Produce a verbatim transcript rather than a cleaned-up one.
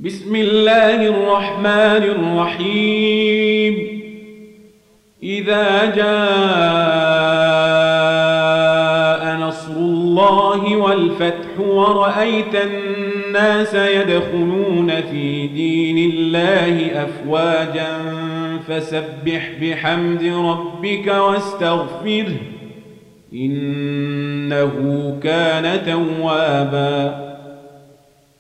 بسم الله الرحمن الرحيم إذا جاء نصر الله والفتح ورأيت الناس يدخلون في دين الله أفواجا فسبح بحمد ربك واستغفره إنه كان توابا